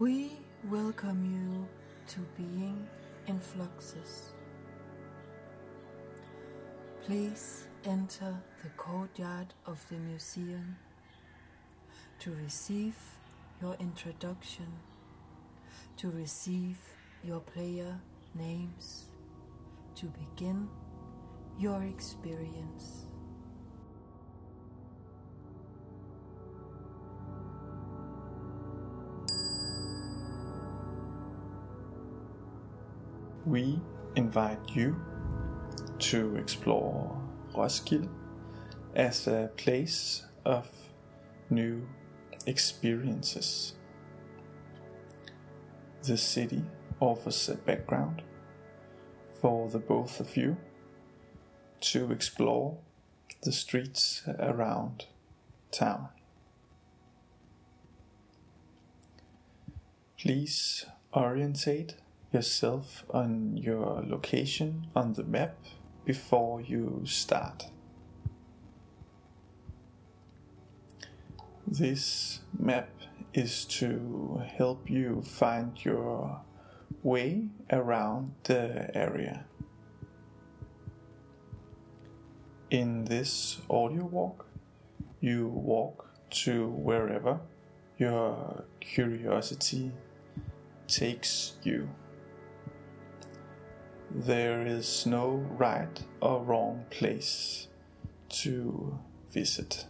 We welcome you to Being in Fluxus. Please enter the courtyard of the museum to receive your introduction, to receive your player names, to begin your experience. We invite you to explore Roskilde as a place of new experiences. The city offers a background for the both of you to explore the streets around town. Please orientate yourself on your location on the map before you start. This map is to help you find your way around the area. In this audio walk, you walk to wherever your curiosity takes you. There is no right or wrong place to visit.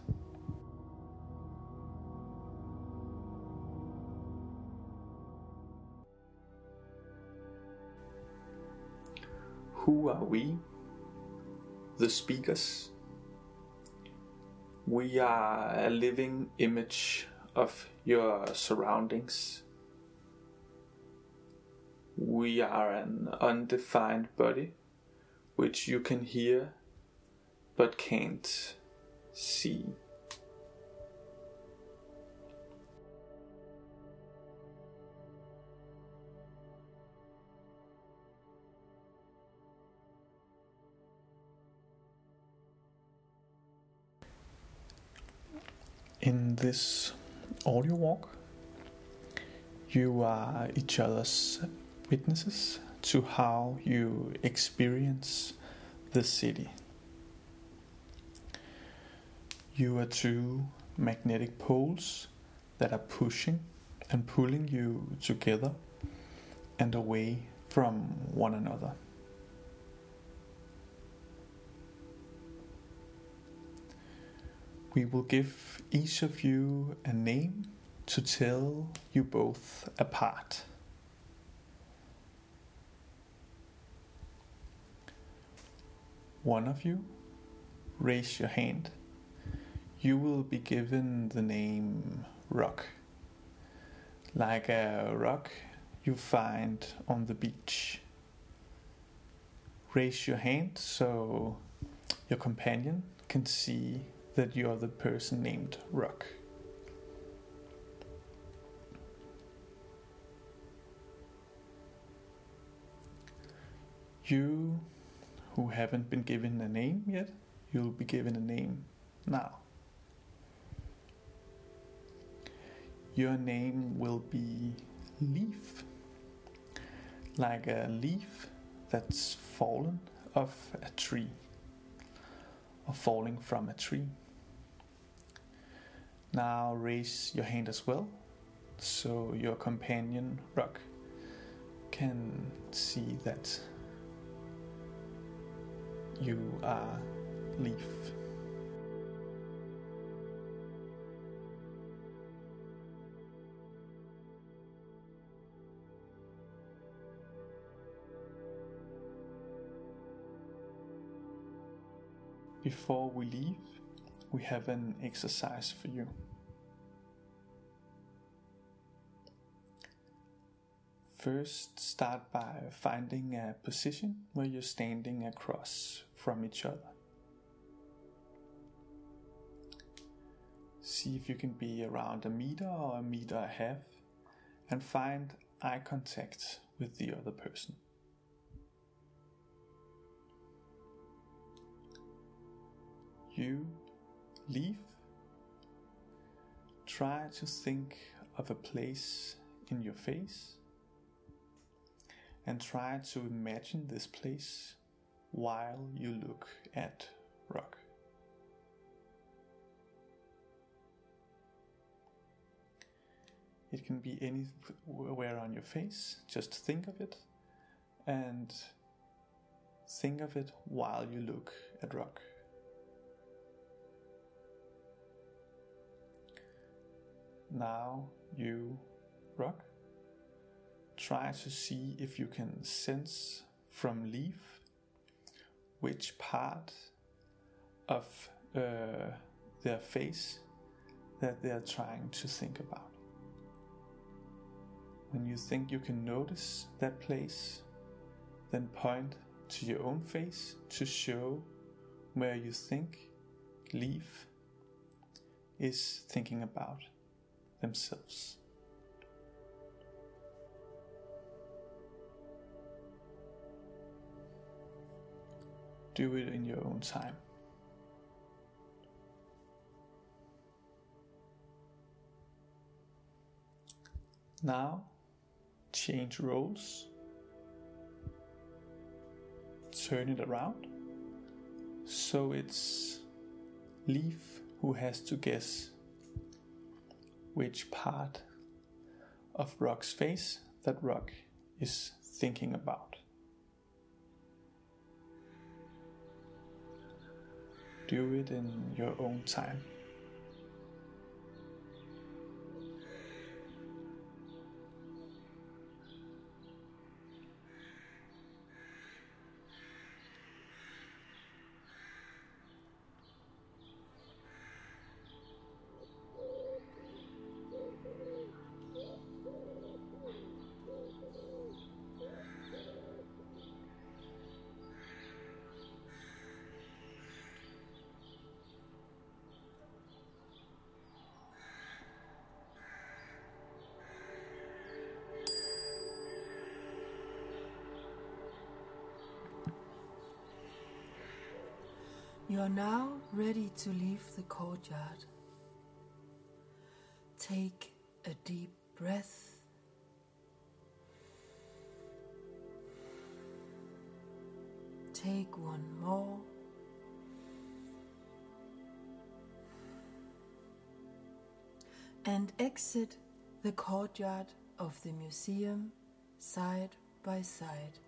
Who are we? The speakers. We are a living image of your surroundings. We are an undefined body which you can hear but can't see. In this audio walk, you are each other's witnesses to how you experience the city. You are two magnetic poles that are pushing and pulling you together and away from one another. We will give each of you a name to tell you both apart. One of you, raise your hand. You will be given the name Rock, like a rock you find on the beach. Raise your hand so your companion can see that you are the person named Rock. You who haven't been given a name yet, you'll be given a name now. Your name will be Leaf, like a leaf that's fallen off a tree or falling from a tree. Now raise your hand as well so your companion Rock can see that you are Leaf. Before we leave, we have an exercise for you. First, start by finding a position where you're standing across from each other. See if you can be around 1 meter or 1.5 meters and find eye contact with the other person. You, Leaf, try to think of a place in your face and try to imagine this place while you look at rock. It can be anywhere on your face, just think of it and think of it while you look at rock. Now you, rock, try to see if you can sense from leaf which part of their face that they are trying to think about. When you think you can notice that place, then point to your own face to show where you think leaf is thinking about themselves. Do it in your own time. Now, change roles. Turn it around. So it's Leaf who has to guess which part of Rock's face that Rock is thinking about. Do it in your own time. You are now ready to leave the courtyard. Take a deep breath. Take one more. And exit the courtyard of the museum side by side.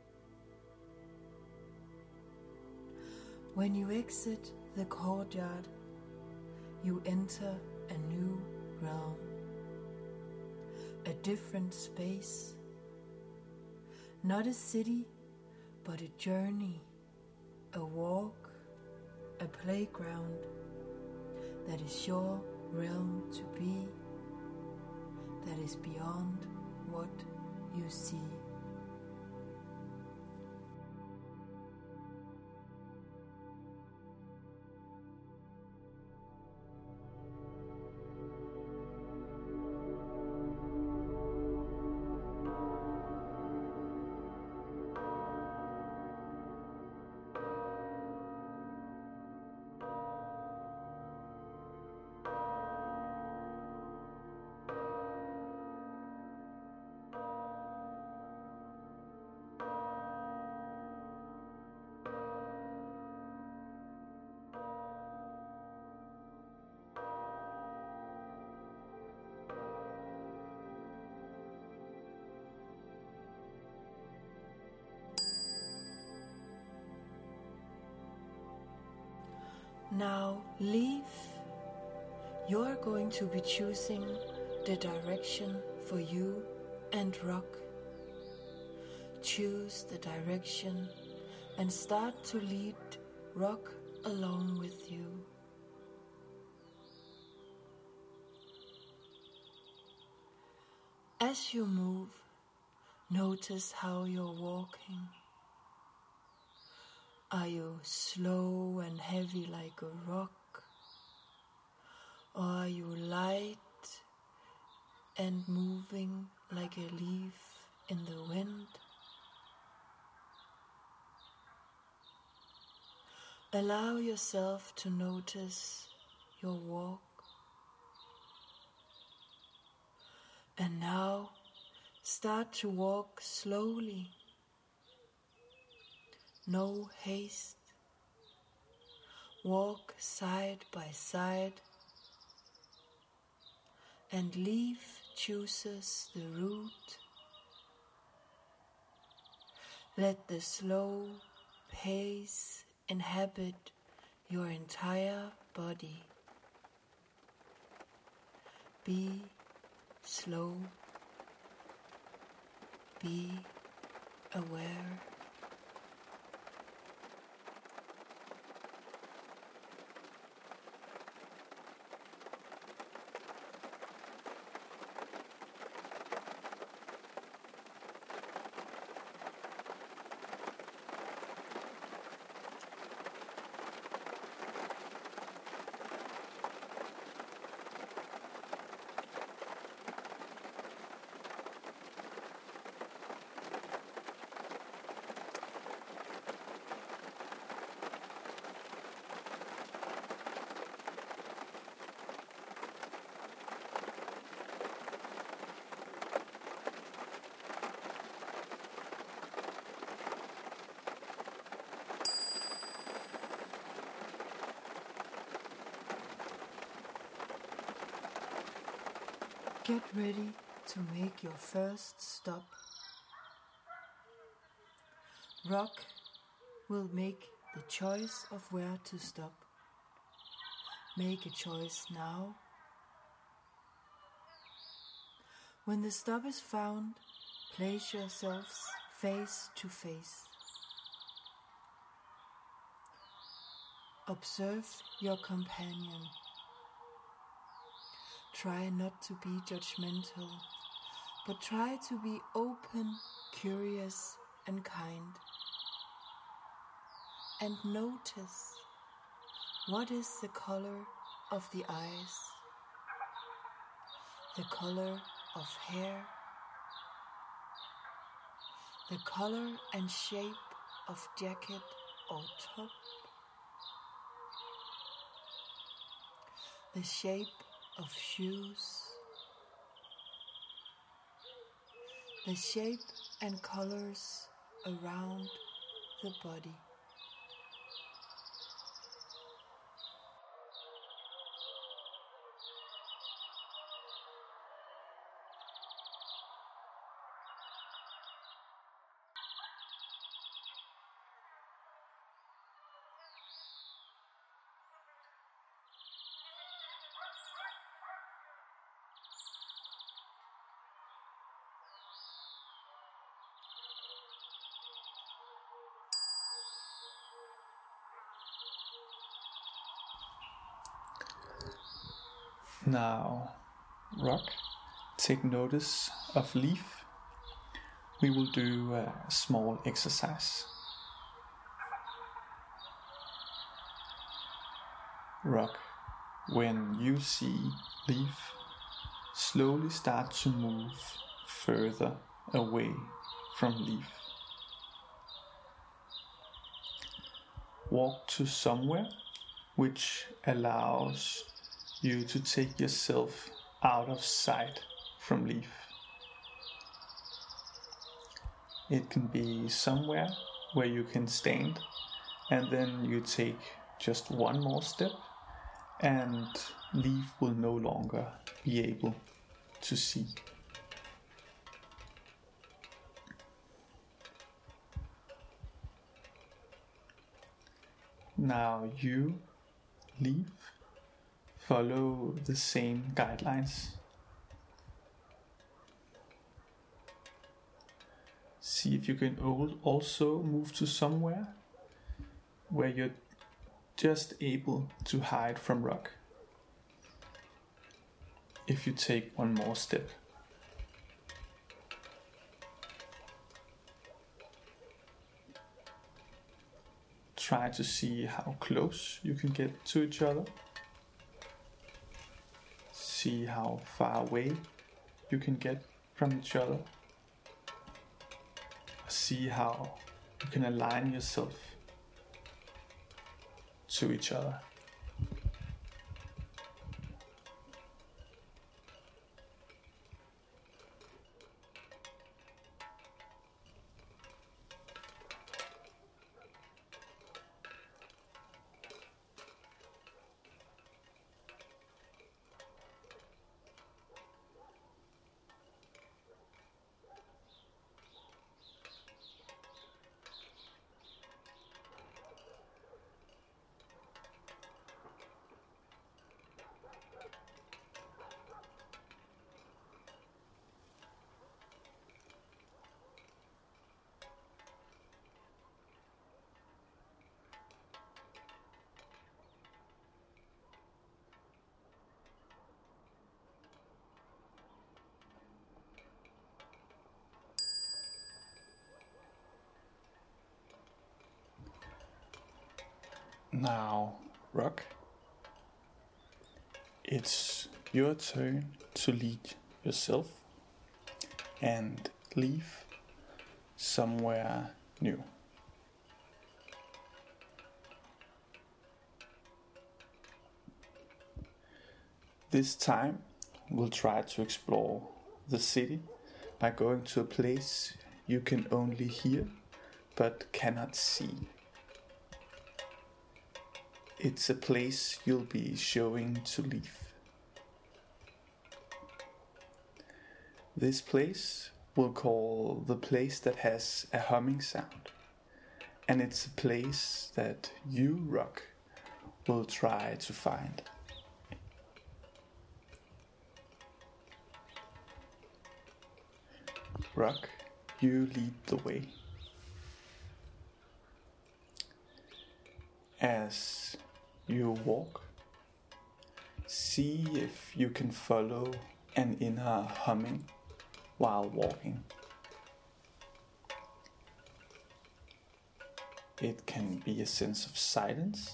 When you exit the courtyard, you enter a new realm, a different space, not a city, but a journey, a walk, a playground that is your realm to be, that is beyond what you see. Now leave. You're going to be choosing the direction for you and Rock. Choose the direction and start to lead Rock along with you. As you move, notice how you're walking. Are you slow and heavy like a rock? Or are you light and moving like a leaf in the wind? Allow yourself to notice your walk. And now start to walk slowly. No haste. Walk side by side, and leaf chooses the route. Let the slow pace inhabit your entire body. Be slow. Be aware. Get ready to make your first stop. Rock will make the choice of where to stop. Make a choice now. When the stop is found, place yourselves face to face. Observe your companion. Try not to be judgmental, but try to be open, curious, and kind. And notice, what is the color of the eyes, the color of hair, the color and shape of jacket or top, the shape of shoes, the shape and colors around the body. Now, Rock, take notice of Leaf. We will do a small exercise. Rock, when you see Leaf, slowly start to move further away from Leaf. Walk to somewhere which allows you to take yourself out of sight from Leaf. It can be somewhere where you can stand, and then you take just one more step and Leaf will no longer be able to see. Now you, Leaf, follow the same guidelines. See if you can also move to somewhere where you're just able to hide from Rock. If you take one more step. Try to see how close you can get to each other. See how far away you can get from each other. See how you can align yourself to each other. Now, Rock, it's your turn to lead yourself and leave somewhere new. This time, we'll try to explore the city by going to a place you can only hear but cannot see. It's a place you'll be showing to leave. This place we'll call the place that has a humming sound, and it's a place that you, Rock, will try to find. Rock, you lead the way. As you walk, see if you can follow an inner humming while walking. It can be a sense of silence,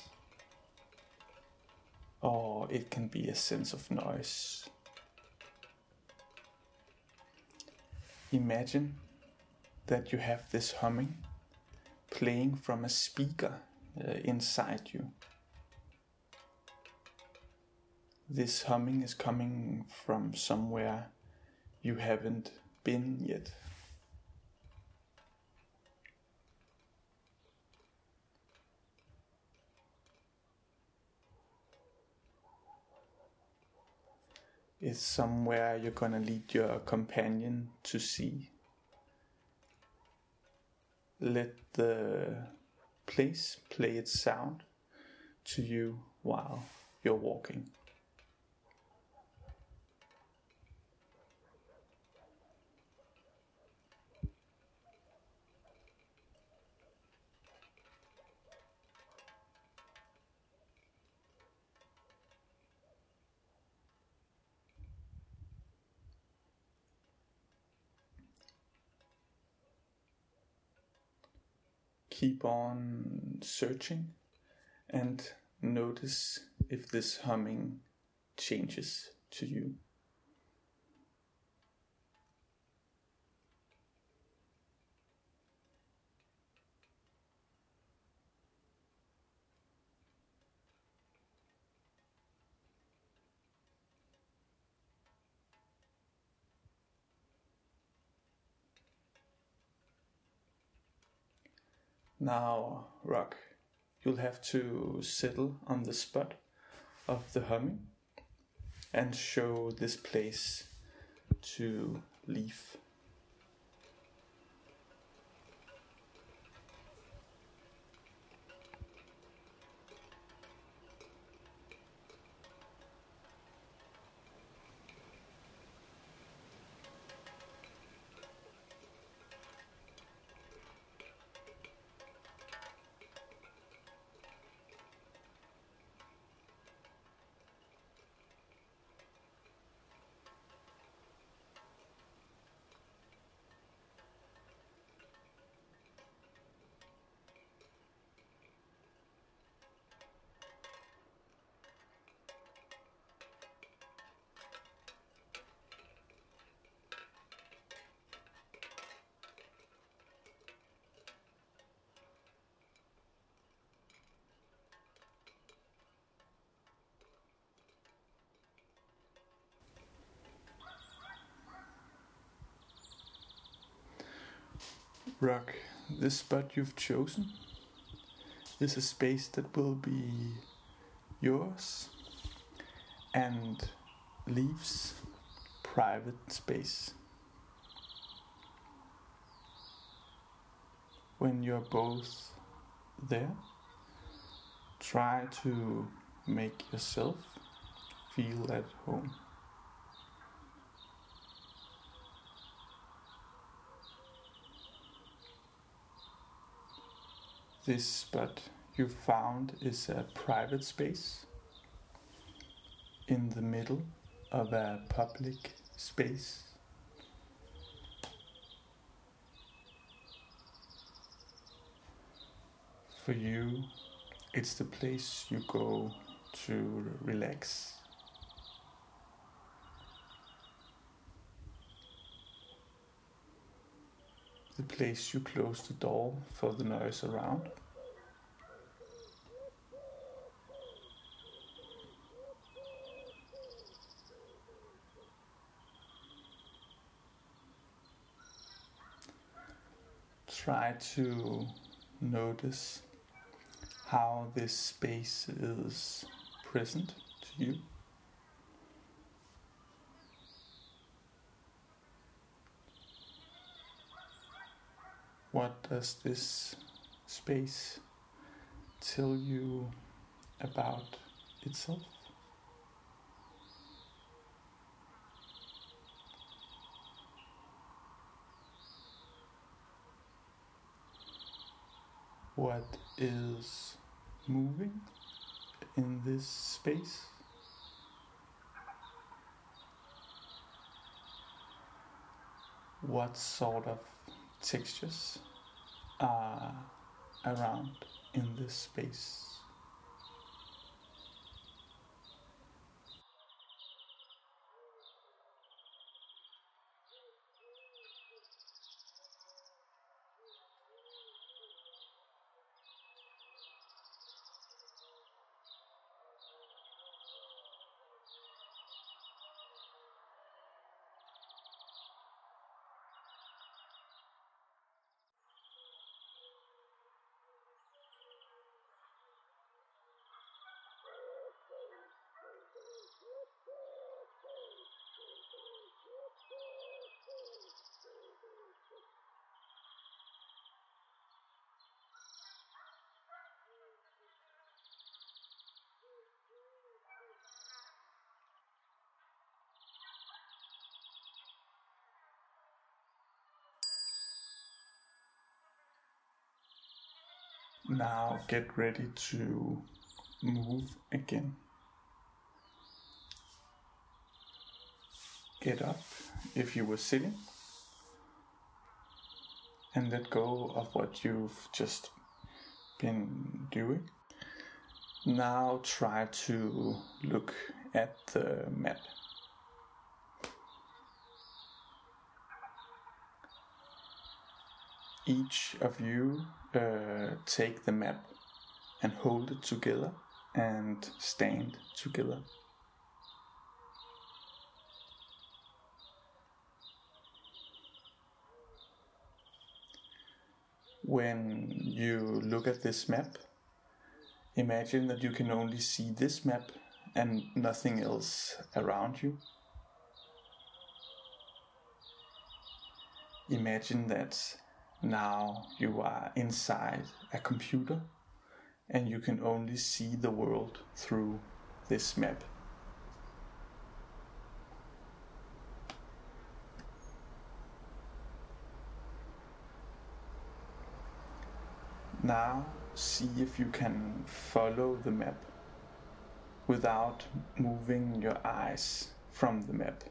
or it can be a sense of noise. Imagine that you have this humming playing from a speaker inside you. This humming is coming from somewhere you haven't been yet. It's somewhere you're gonna lead your companion to see. Let the place play its sound to you while you're walking. Keep on searching and notice if this humming changes to you. Now, Rock, you'll have to settle on the spot of the humming and show this place to leave. Rock, this spot you've chosen is a space that will be yours and leaves private space. When you're both there, try to make yourself feel at home. This spot you found is a private space in the middle of a public space. For you It's the place you go to relax. The place you close the door for the noise around. Try to notice how this space is present to you. What does this space tell you about itself? What is moving in this space? What sort of textures are around in this space? Now get ready to move again. Get up if you were sitting and let go of what you've just been doing. Now try to look at the map. Each of you take the map and hold it together and stand together. When you look at this map, imagine that you can only see this map and nothing else around you. Imagine that now you are inside a computer and you can only see the world through this map. Now see if you can follow the map without moving your eyes from the map.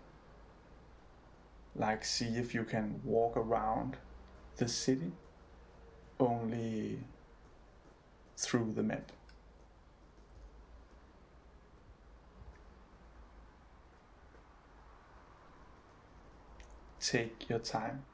Like see if you can walk around the city only through the map. Take your time.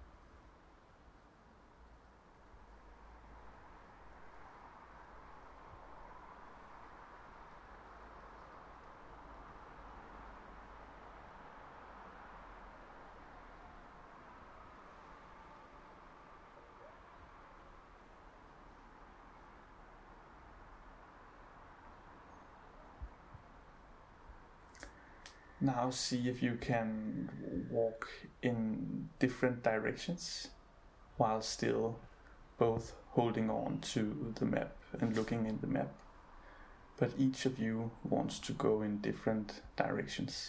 Now see if you can walk in different directions while still both holding on to the map and looking in the map. But each of you wants to go in different directions.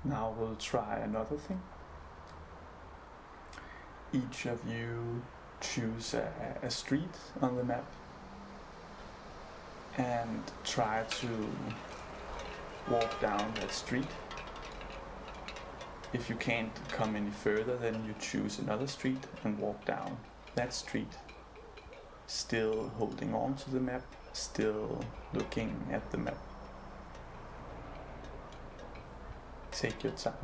Now we'll try another thing. Each of you choose a street on the map and try to walk down that street. If you can't come any further, then you choose another street and walk down that street. Still holding on to the map, still looking at the map. Take your time.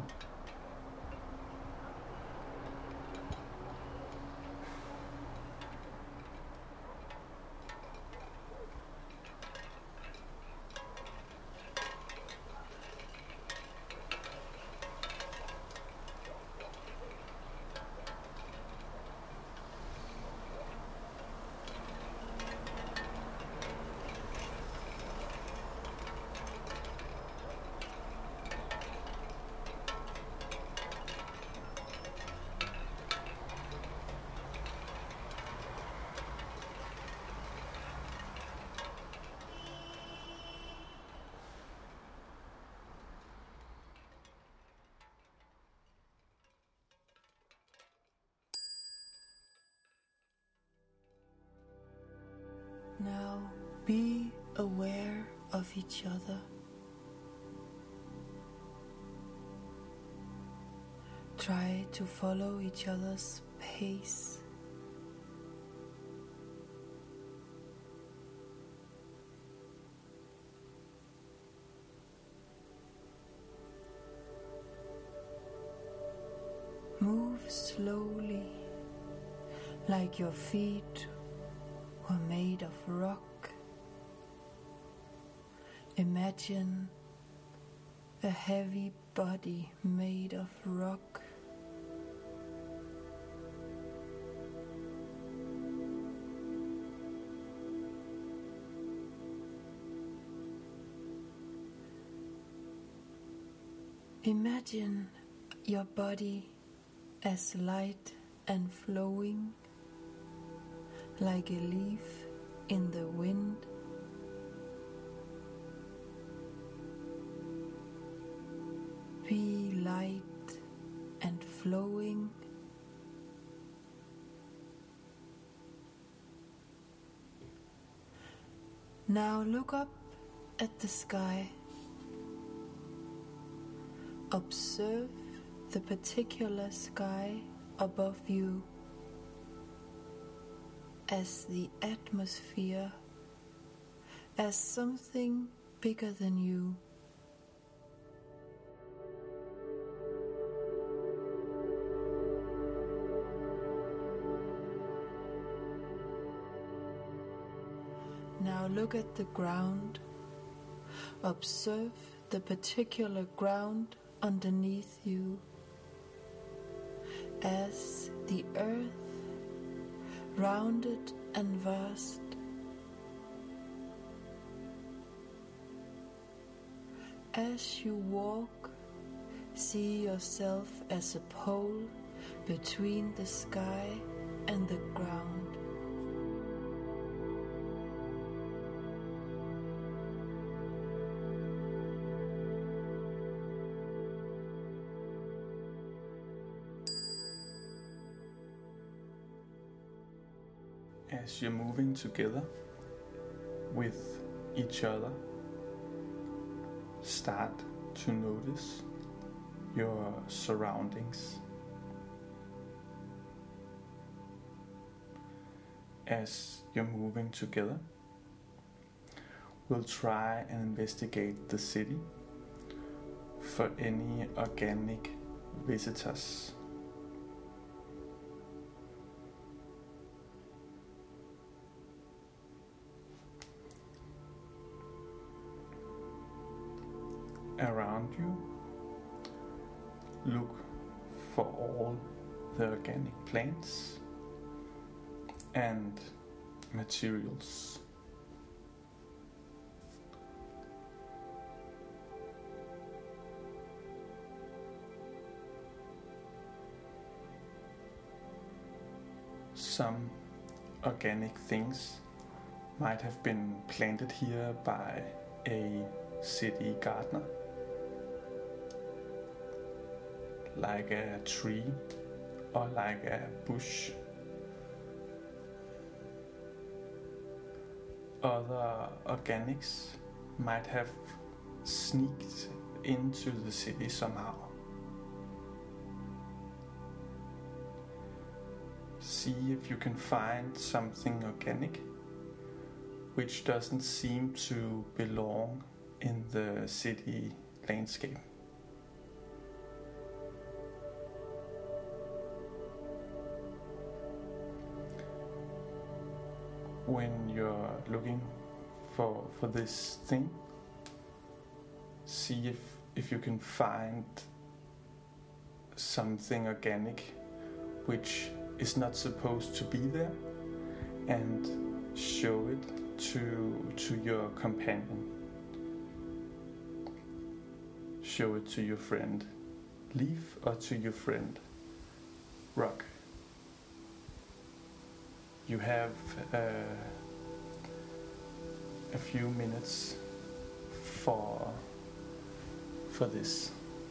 Now be aware of each other. Try to follow each other's pace. Move slowly, like your feet were made of rock. Imagine a heavy body made of rock. Imagine your body as light and flowing, like a leaf in the wind. Be light and flowing. Now look up at the sky. Observe the particular sky above you as the atmosphere, as something bigger than you. Now look at the ground. Observe the particular ground underneath you as the earth, rounded and vast. As you walk, see yourself as a pole between the sky and the ground. As you're moving together with each other, start to notice your surroundings. As you're moving together, we'll try and investigate the city for any organic visitors. Around you, look for all the organic plants and materials. Some organic things might have been planted here by a city gardener. like a tree or like a bush. Other organics might have sneaked into the city somehow. See if you can find something organic which doesn't seem to belong in the city landscape. When you're looking for this thing, see if you can find something organic which is not supposed to be there, and show it to your companion. Show it to your friend Leaf or to your friend Rock. You have a few minutes for this.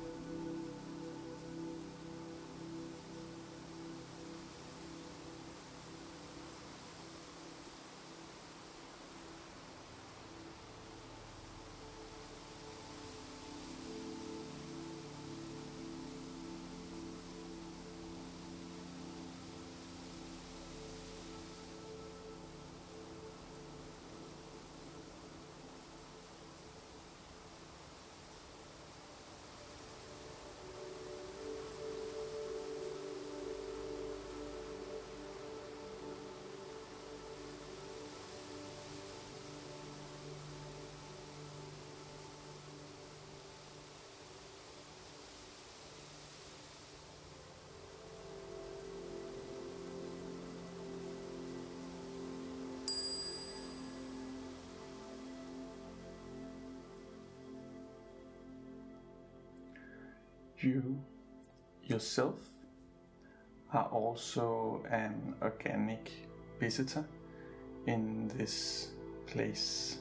You yourself are also an organic visitor in this place.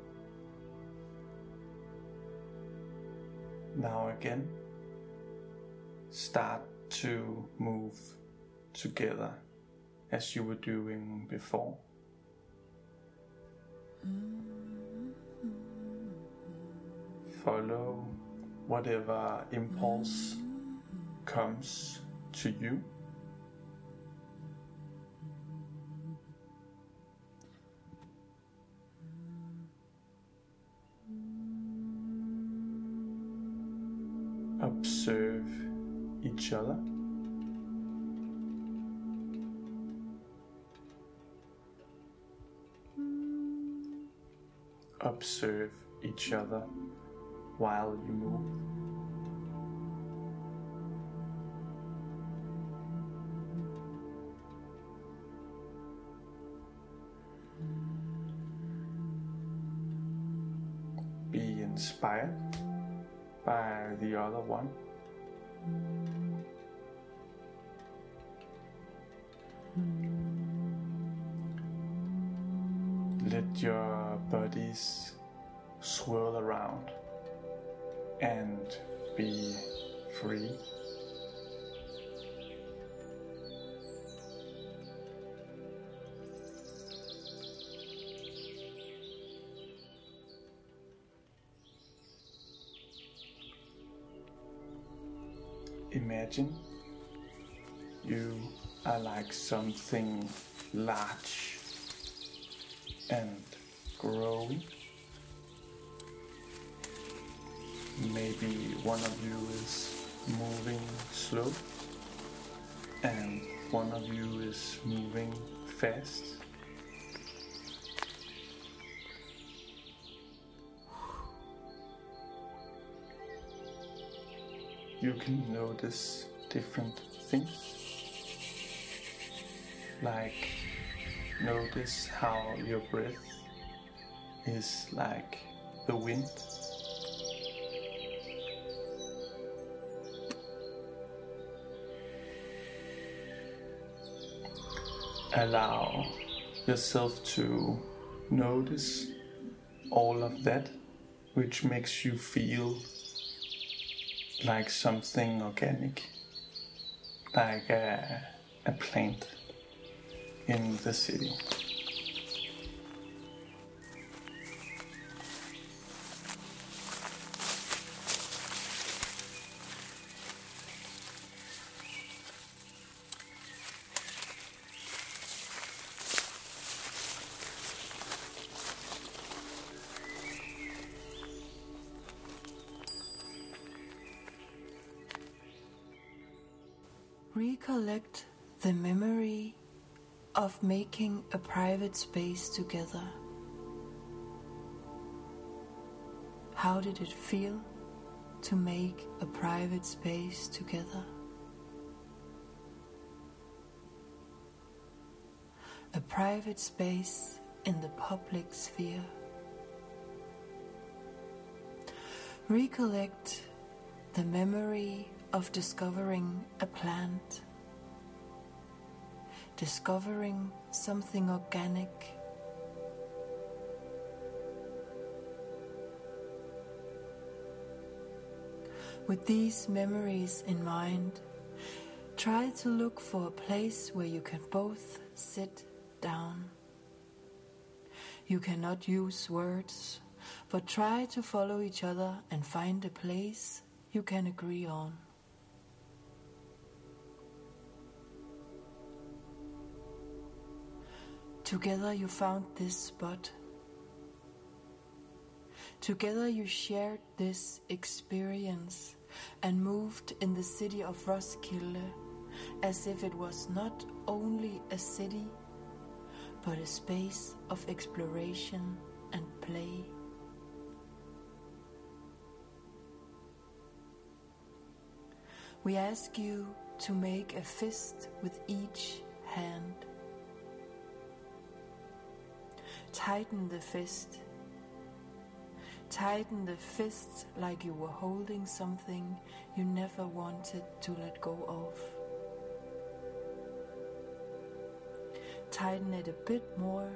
Now again, start to move together as you were doing before. Follow whatever impulse comes to you. Observe each other. Observe each other while you move. Be inspired by the other one. Let your bodies swirl around and be free. Imagine you are like something large and growing. Maybe one of you is moving slow and one of you is moving fast. You can notice different things, like notice how your breath is like the wind. Allow yourself to notice all of that which makes you feel like something organic, like a plant in the city. Recollect the memory of making a private space together. How did it feel to make a private space together? A private space in the public sphere. Recollect the memory of discovering a plant, discovering something organic, with these memories in mind, try to look for a place where you can both sit down. You cannot use words, but try to follow each other and find a place you can agree on. Together you found this spot. Together you shared this experience and moved in the city of Roskilde as if it was not only a city, but a space of exploration and play. We ask you to make a fist with each hand. Tighten the fist. Tighten the fist like you were holding something you never wanted to let go of. Tighten it a bit more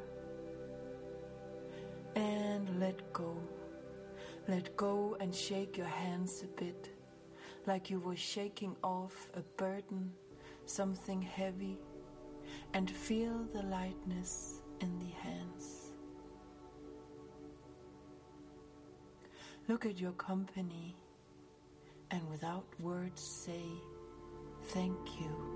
and let go. Let go and shake your hands a bit, like you were shaking off a burden, something heavy, and feel the lightness in the hands. Look at your company and without words say, thank you.